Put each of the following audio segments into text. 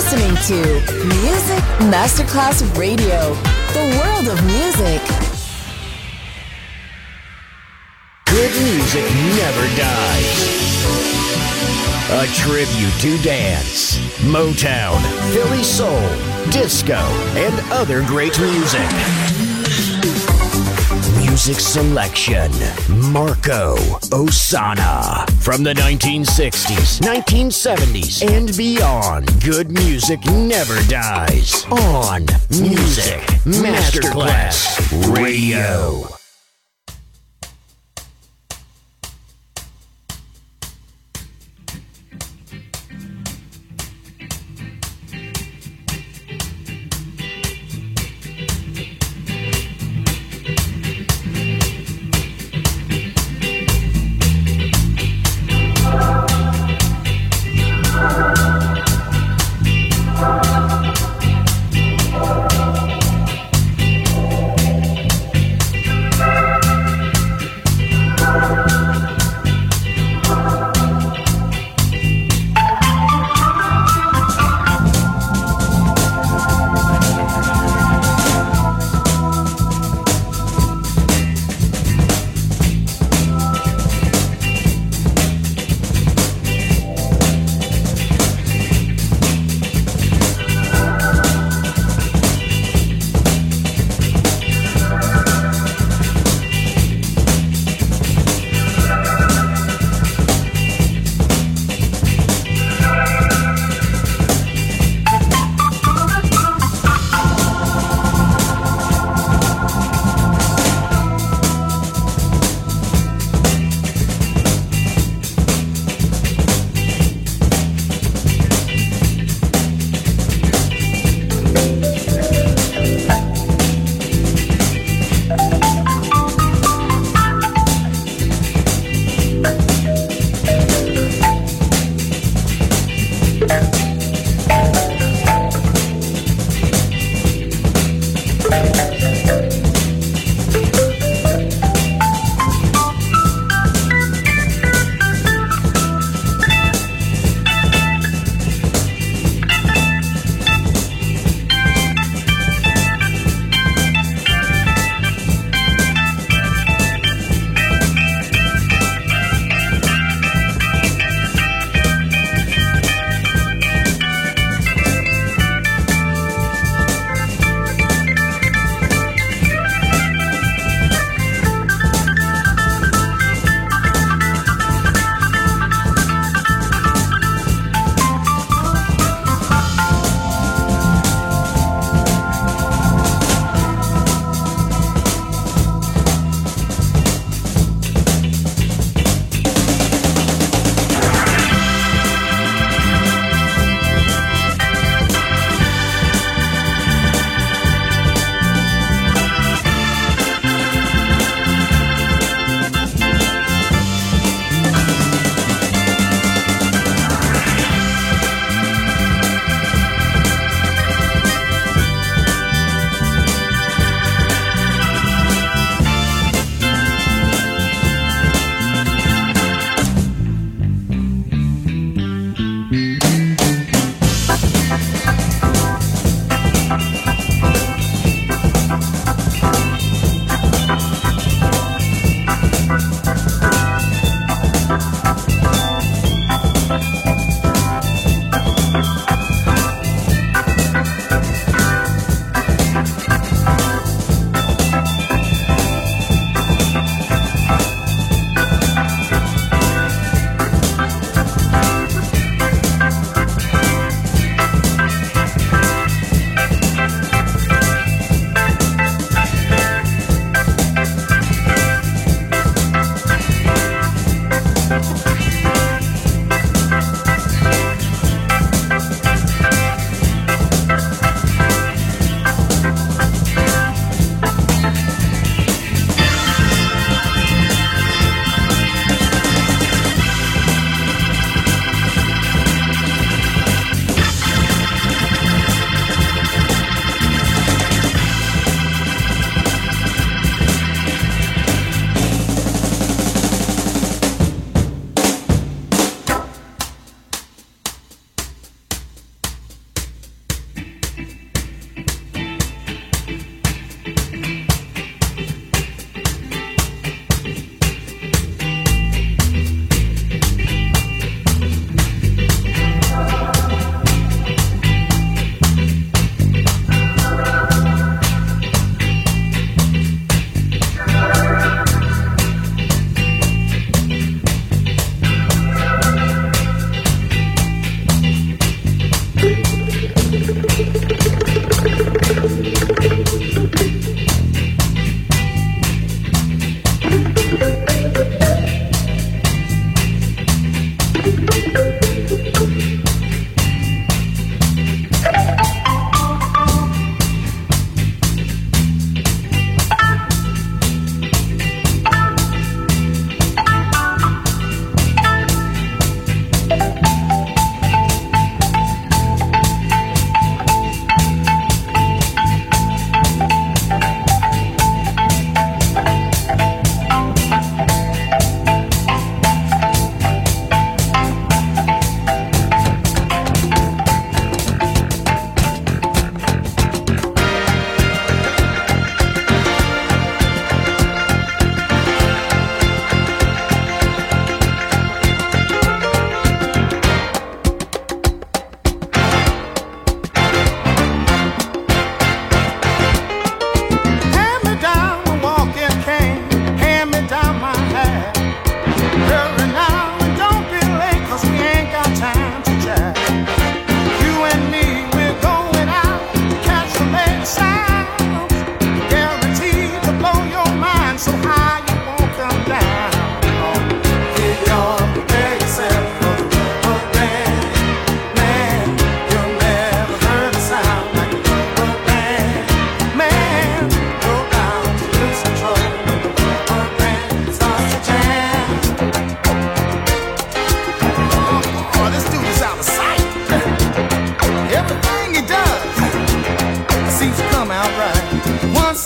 listening to Music Masterclass Radio, the world of music. Good music never dies. A tribute to dance, Motown, Philly soul, disco, and other great music. Music selection, Marco Ossanna. From the 1960s, 1970s, and beyond, good music never dies. On Music Masterclass Radio.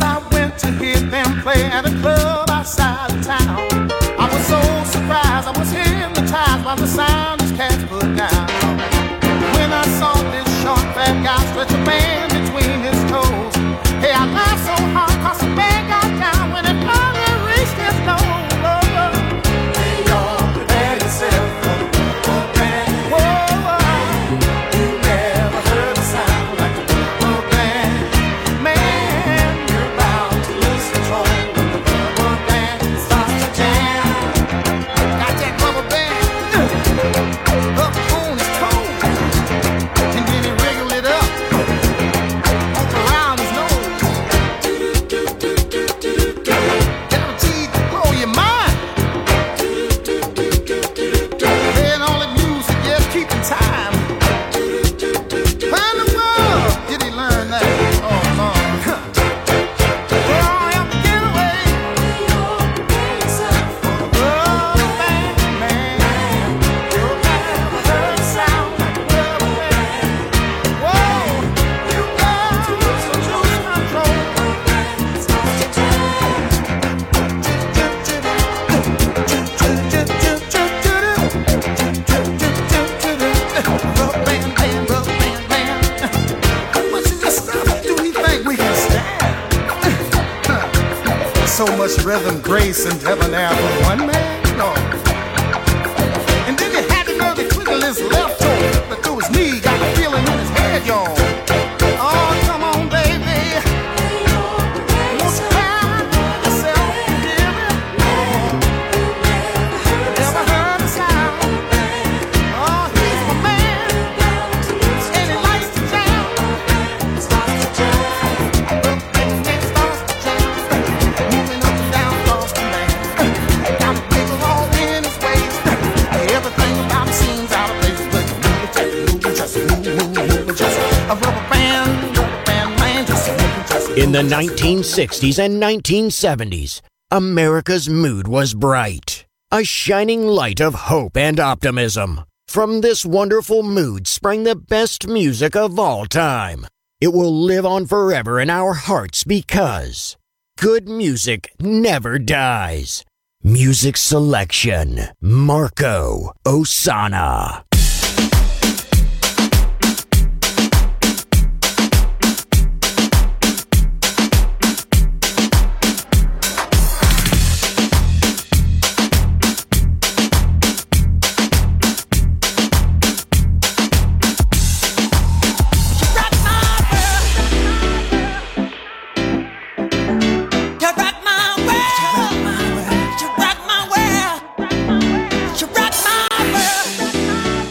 Once I went to hear them play at a club outside of town. I was so surprised, I was hypnotized by the sound these cats put down. When I saw this short fat guy stretch a band between his toes, hey, I laughed so hard 'cause the band got down when it finally reached his nose. Hey, y'all, prepare yourself for the rubber band. Whoa, you never heard a sound like the rubber band. Man, you're about to lose control when the rubber band starts to jam. Got that rubber band up on his toes, and then he wriggled it up around his nose. Guaranteed to blow your mind. Playing all the music, yes, keeping time. How in the world did he learn that? Oh, Lord. Well, I am the getaway. Rubber band, man. You'll never heard a sound like a rubber band. Whoa, you got to lose control. Rubber band, band, rubber band, band. How much of this stuff do we think we can stand? So much rhythm, grace, and debonair for one man? No. And then he had to know the twiddle his left toe, but through his knee, got the feeling in his head, y'all. Oh, come on, baby. Won't you find yourself here? Never heard a sound. Oh, he's my man, and he likes to jam. Starts to jam. Moving up and down across the land. Got a wiggle all in his waist. Everything about him seems out of place, but just a rubber band man, just In the 1960s and 1970s, America's mood was bright, a shining light of hope and optimism. From this wonderful mood sprang the best music of all time. It will live on forever in our hearts because good music never dies. Music selection, Marco Ossanna. You rock my world.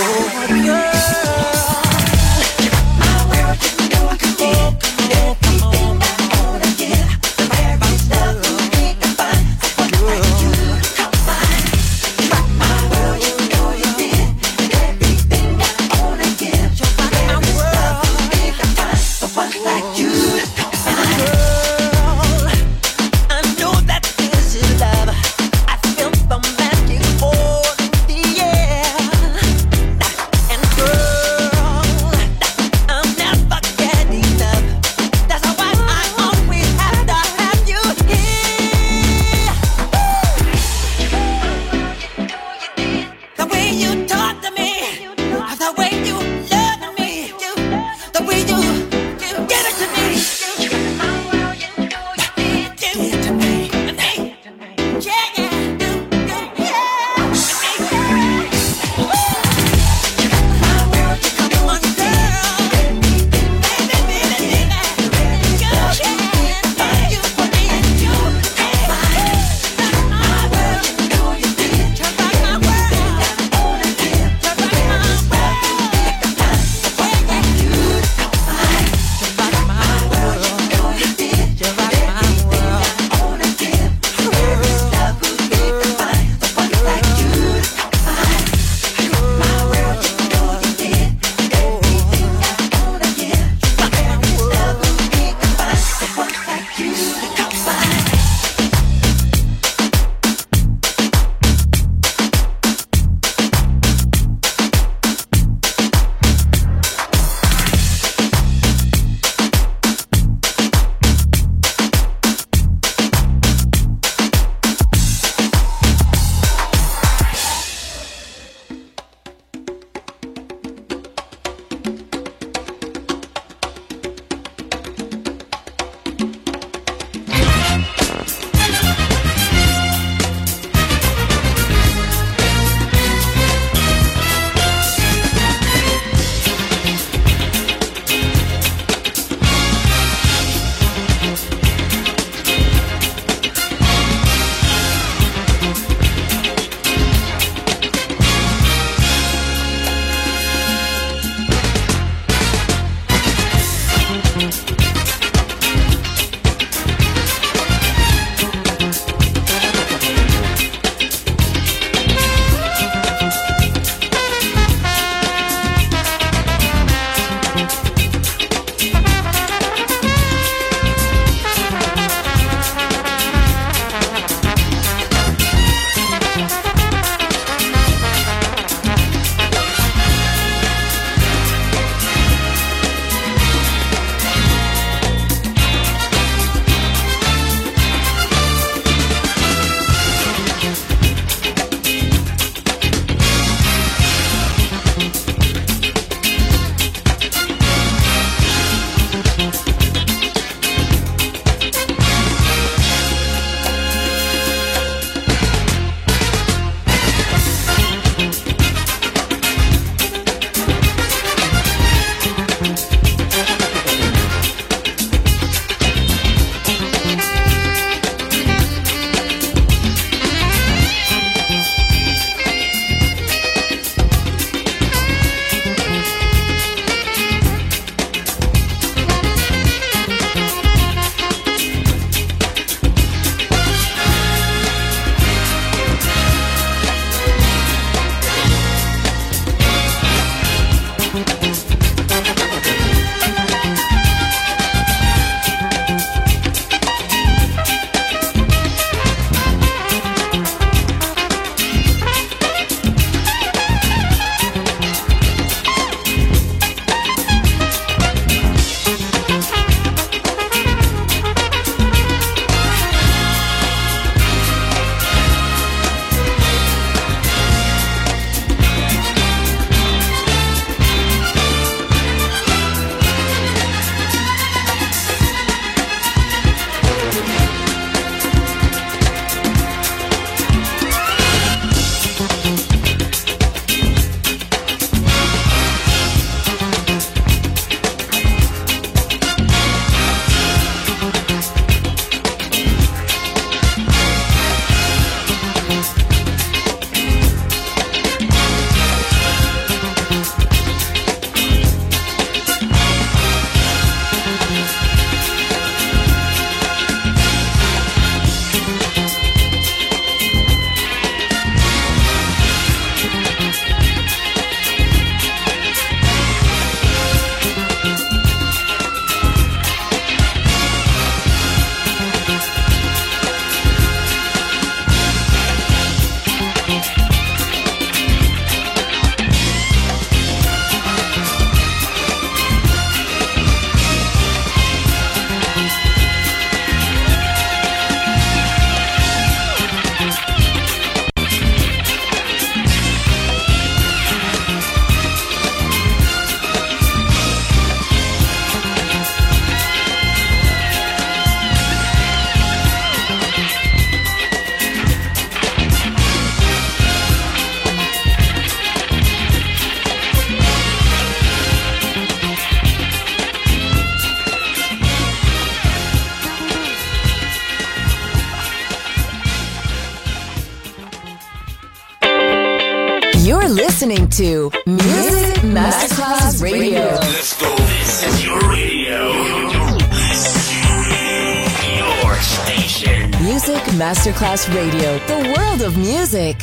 And to Music Masterclass Radio. Let's go. This is your radio. Your station. Music Masterclass Radio. The world of music.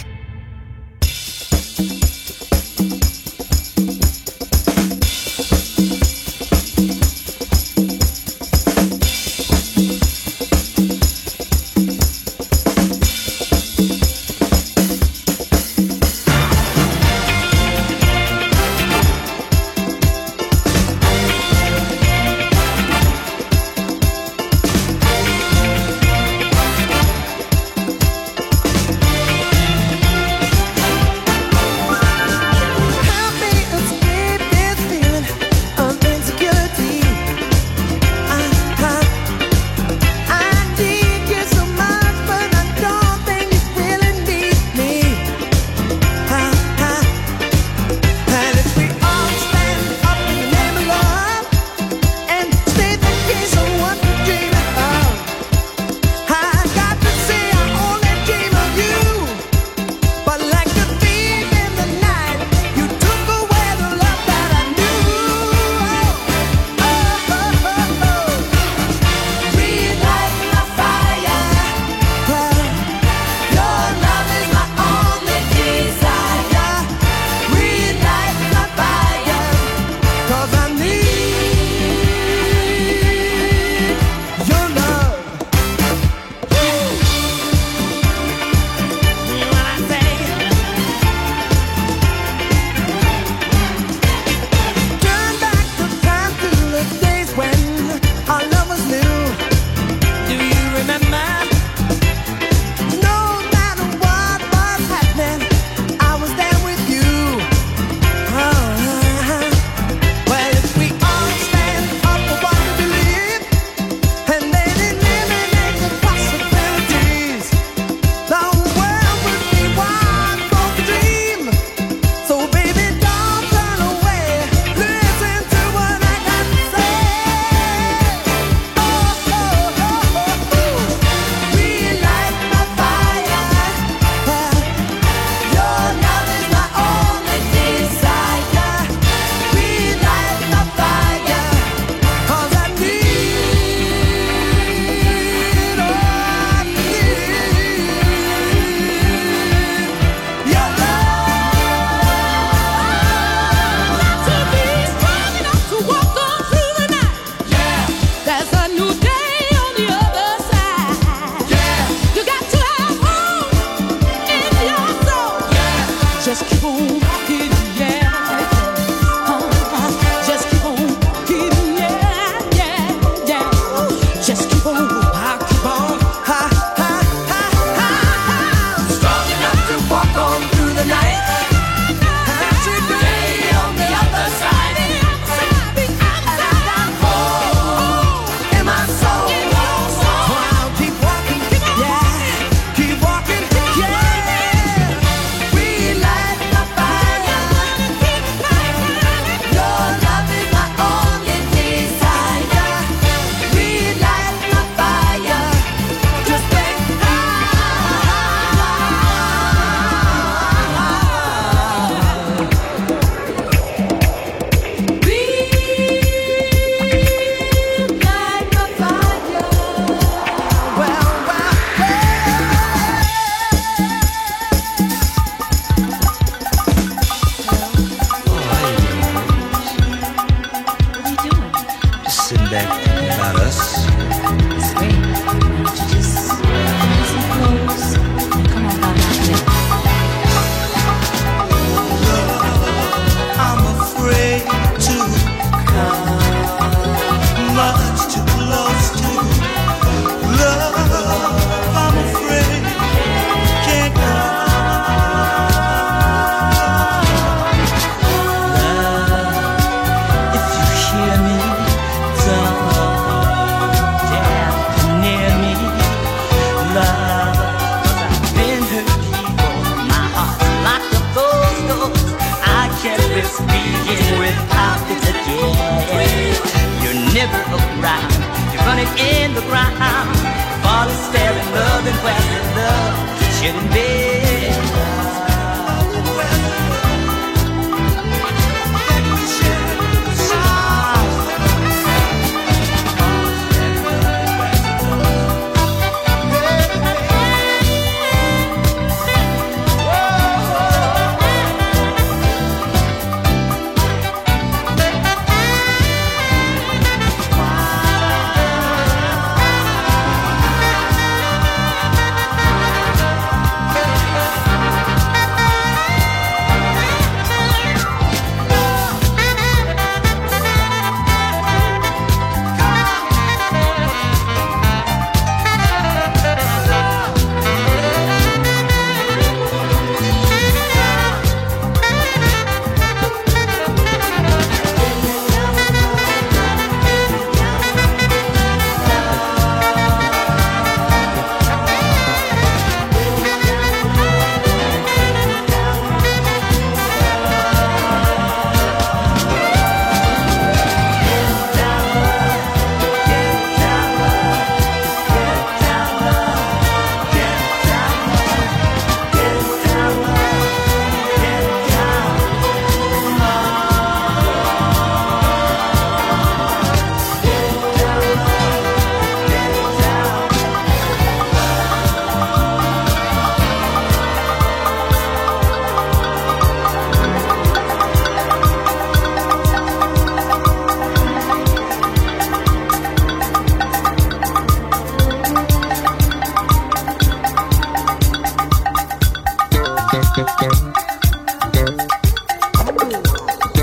Shouldn't be.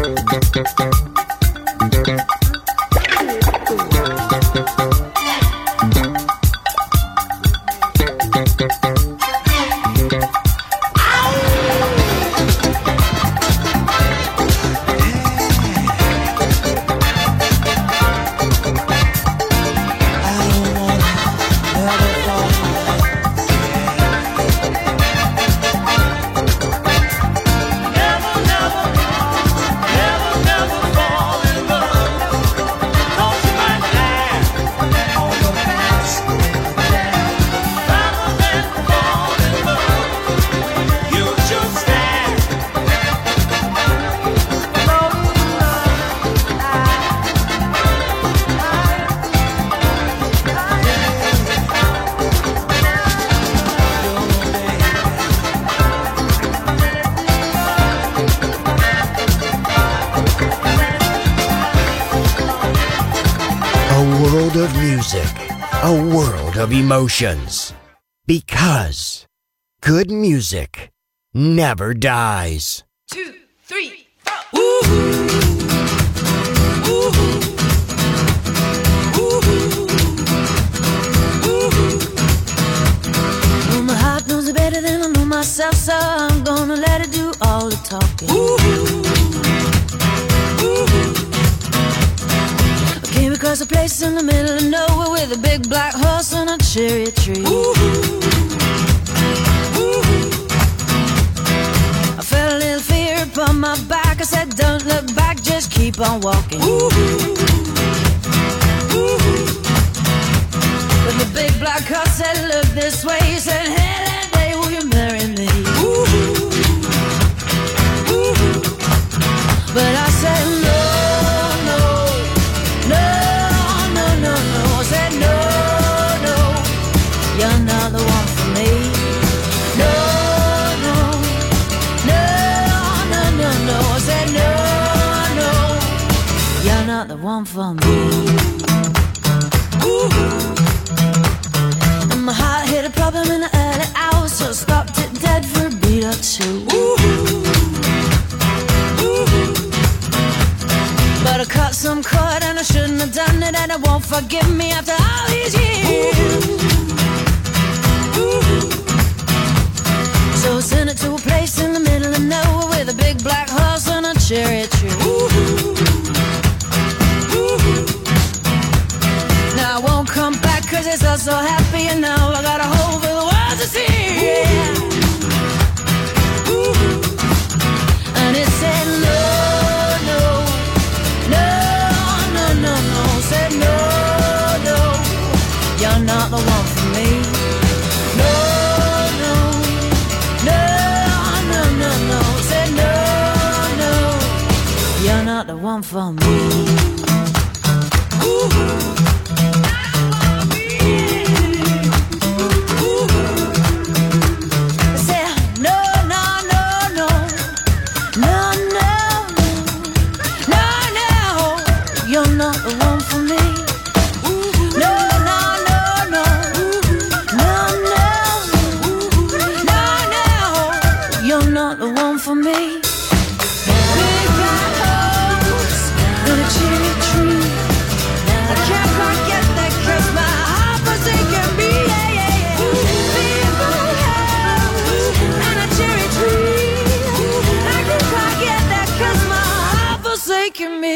Of emotions, because good music never dies. 2, 3, 4. Ooh. Ooh. Ooh. Well, my heart knows it better than I know myself, so I'm gonna let it do all the talking. Ooh. Came across a place in the middle of nowhere with a big black horse and a cherry tree. Ooh. Ooh. I felt a little fear upon my back. I said, don't look back, just keep on walking. Ooh. Ooh. But the big black horse said, look this way. He said, hey, that day will you marry me? Ooh. Ooh. But I said, no. You're not the one for me. No, no, no, no, no, no. I said no, no. You're not the one for me. Ooh. And my heart hit a problem in the early hours, so I stopped it dead for a beat or two. Ooh. Ooh. But I cut some cord and I shouldn't have done it, and I won't forgive me after all these years. Ooh. So I sent it to a place in the middle of nowhere with a big black horse and a cherry tree. Ooh. Ooh. Now I won't come back 'cause it's all so happy, and now I got a hole for the world to see. Yeah. Ooh. And it said no, no, no, no, no, no. Said no, no, you're not the one for me. No, no, no, no, no, no. Said no, no, you're not the one for me. Ooh. For me, big black horse and a cherry tree. I can't quite get that 'cause my heart forsaken me. Yeah, yeah, yeah. Big black horse and a cherry tree. I can't quite get that 'cause my heart forsaken me.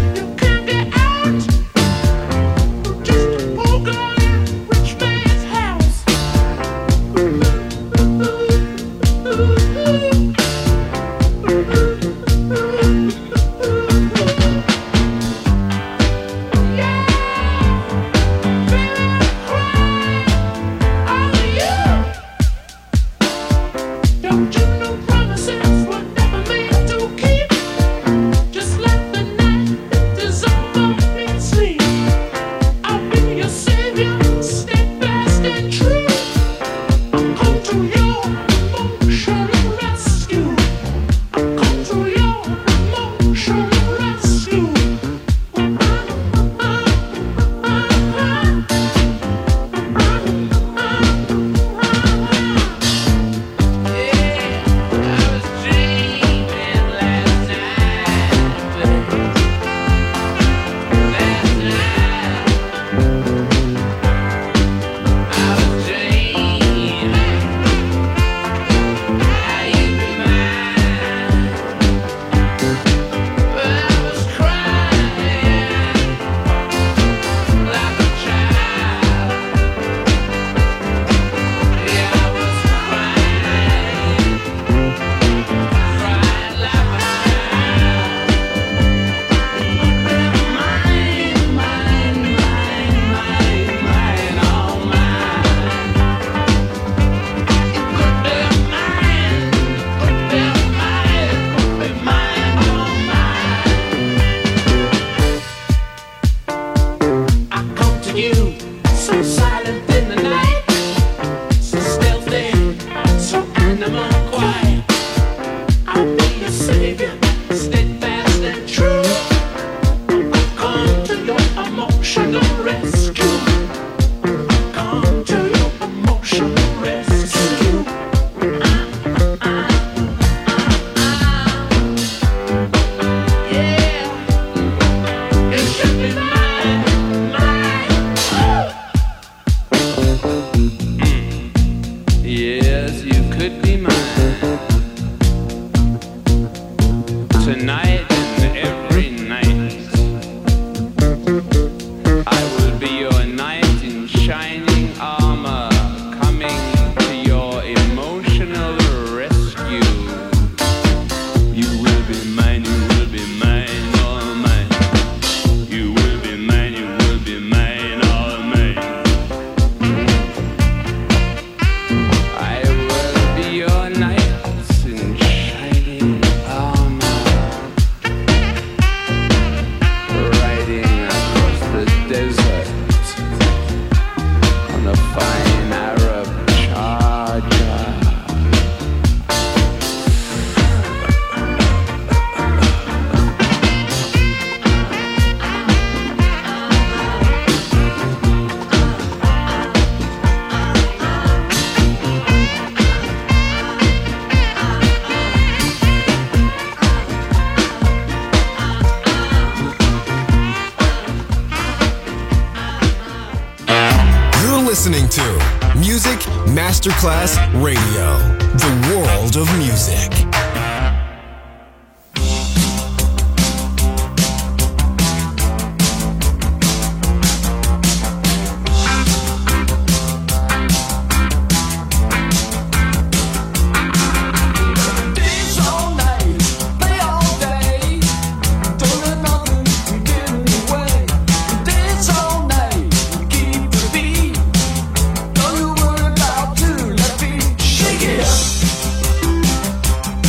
Rich man's house. listening to Music Masterclass Radio, the world of music. Shake it up.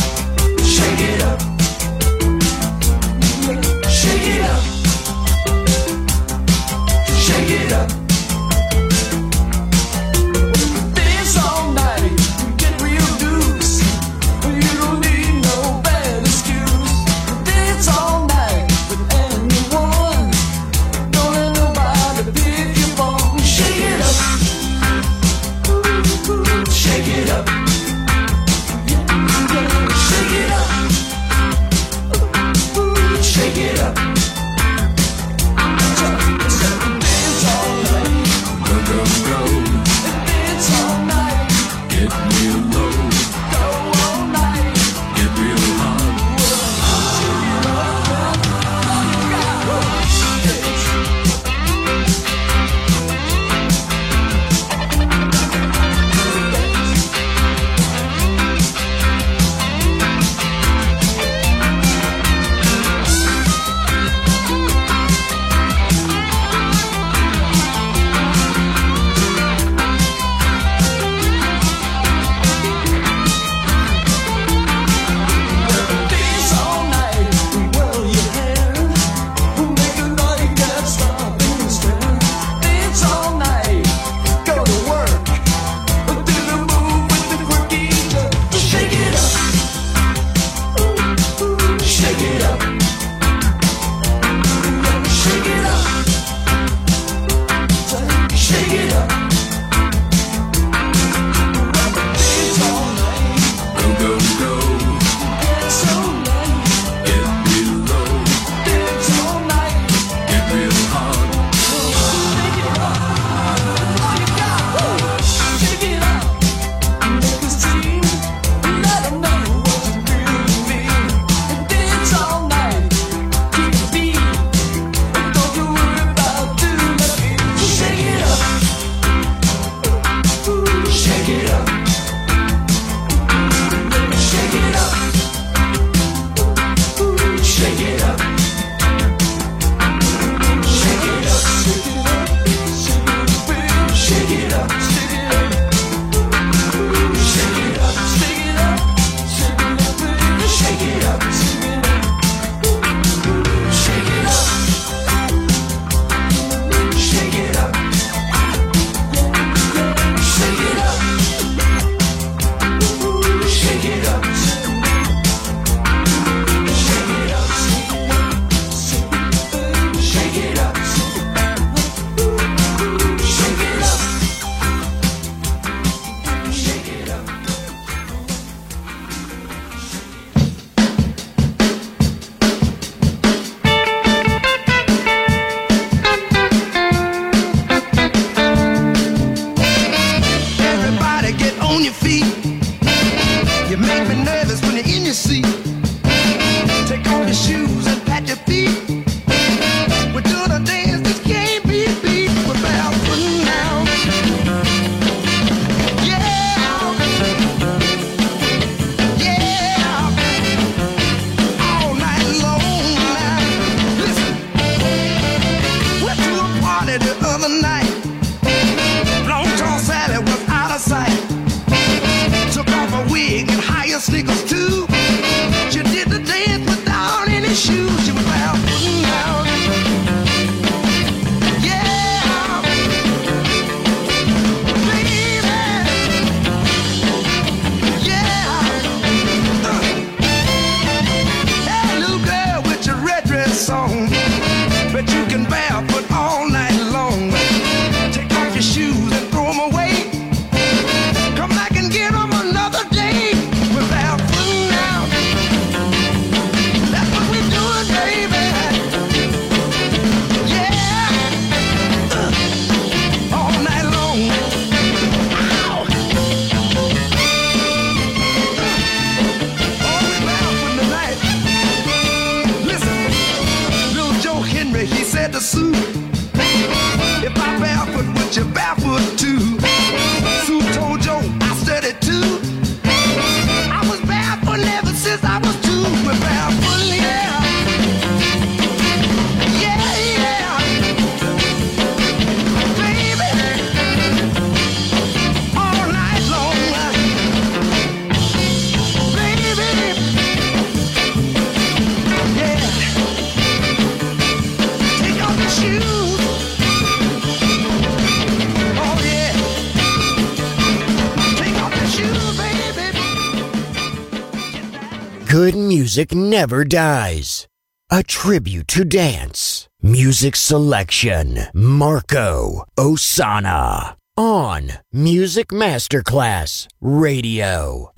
Good music never dies. A tribute to dance. Music selection. Marco Ossanna. On Music Masterclass Radio.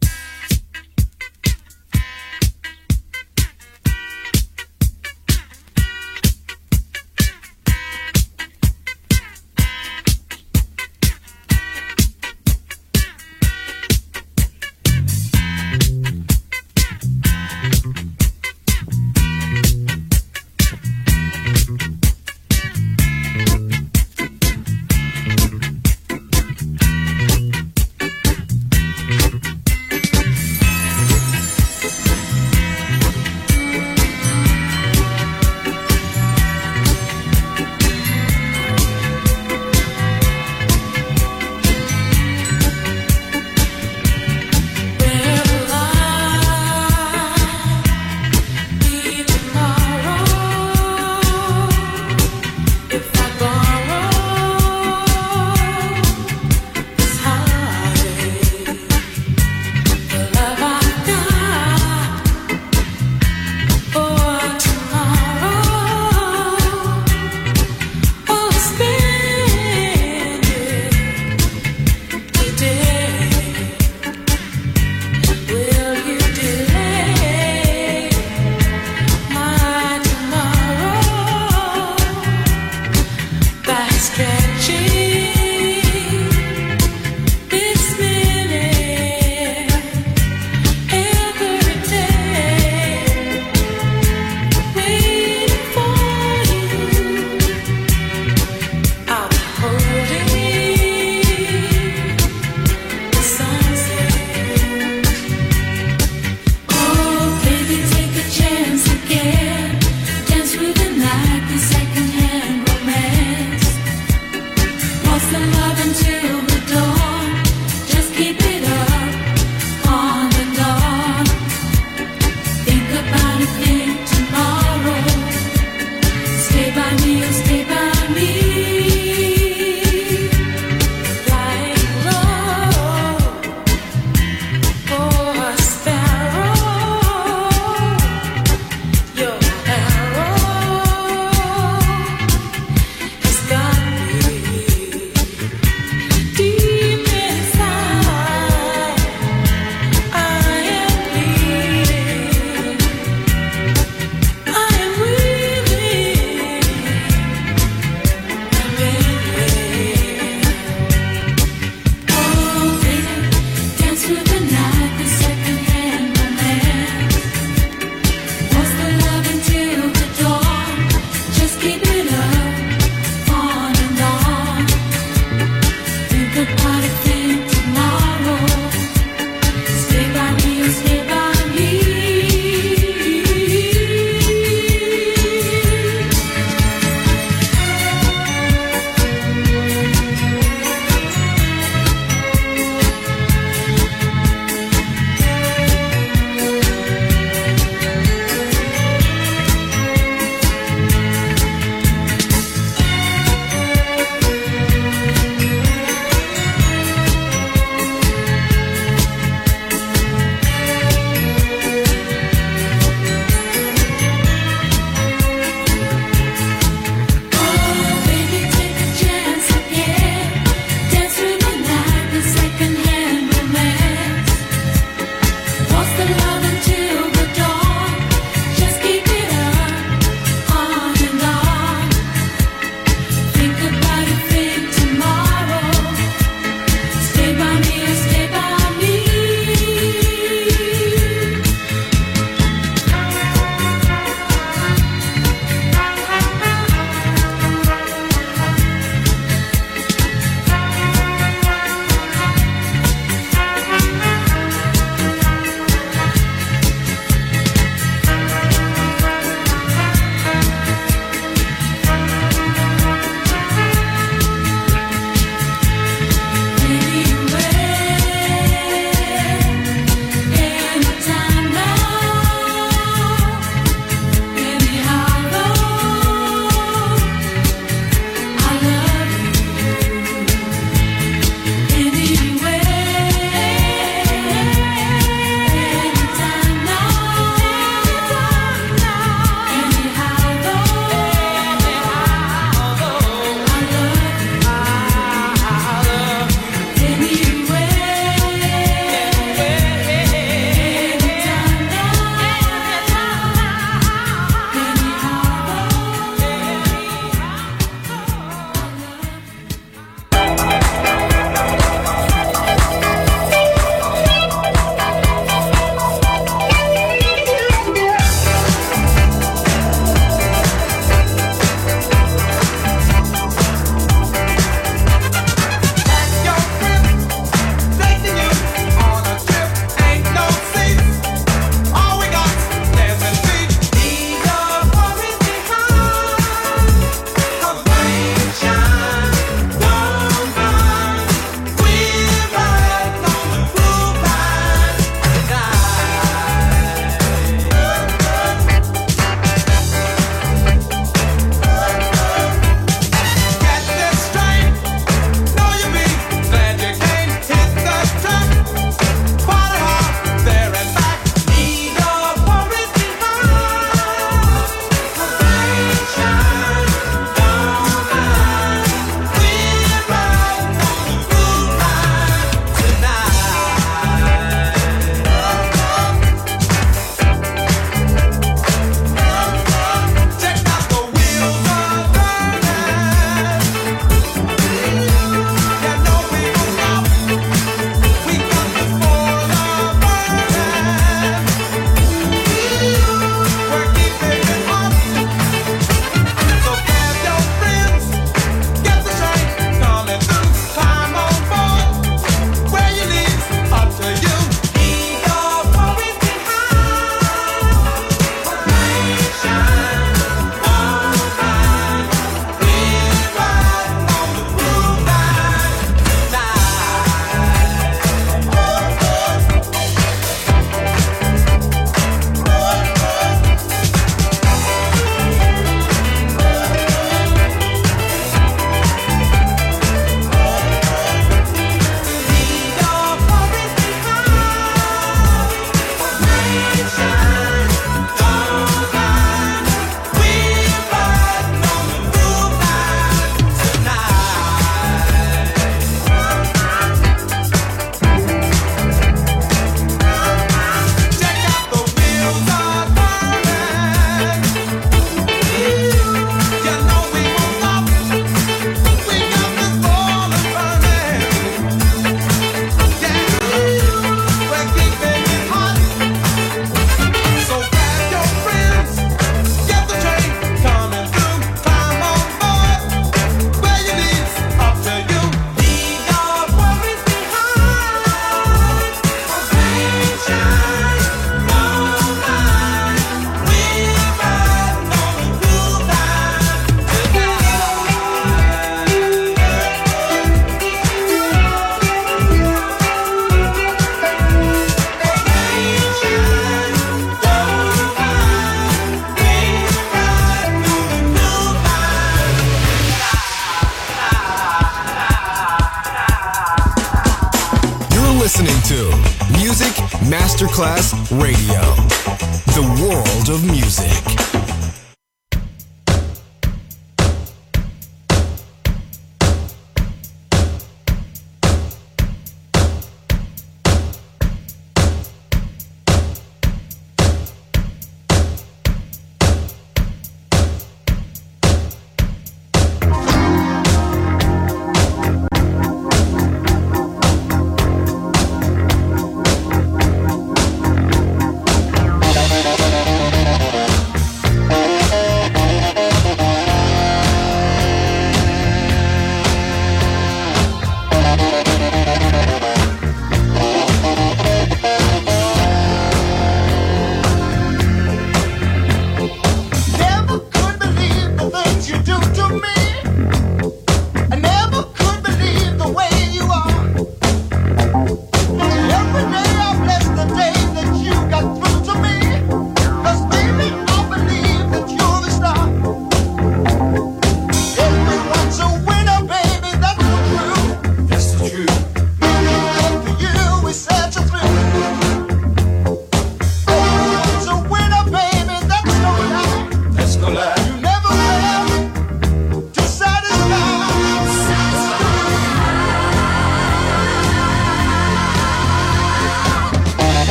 listening to Music Masterclass Radio, the world of music.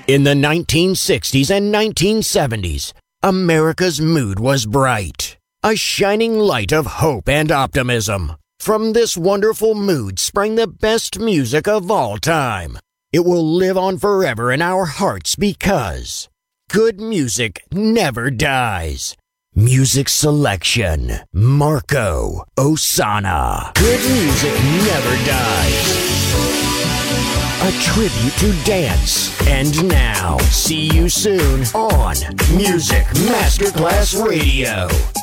In the 1960s and 1970s, America's mood was bright, a shining light of hope and optimism. From this wonderful mood sprang the best music of all time. It will live on forever in our hearts because good music never dies. Music selection, Marco Ossanna. Good music never dies. A tribute to dance. And now, see you soon on Music Masterclass Radio.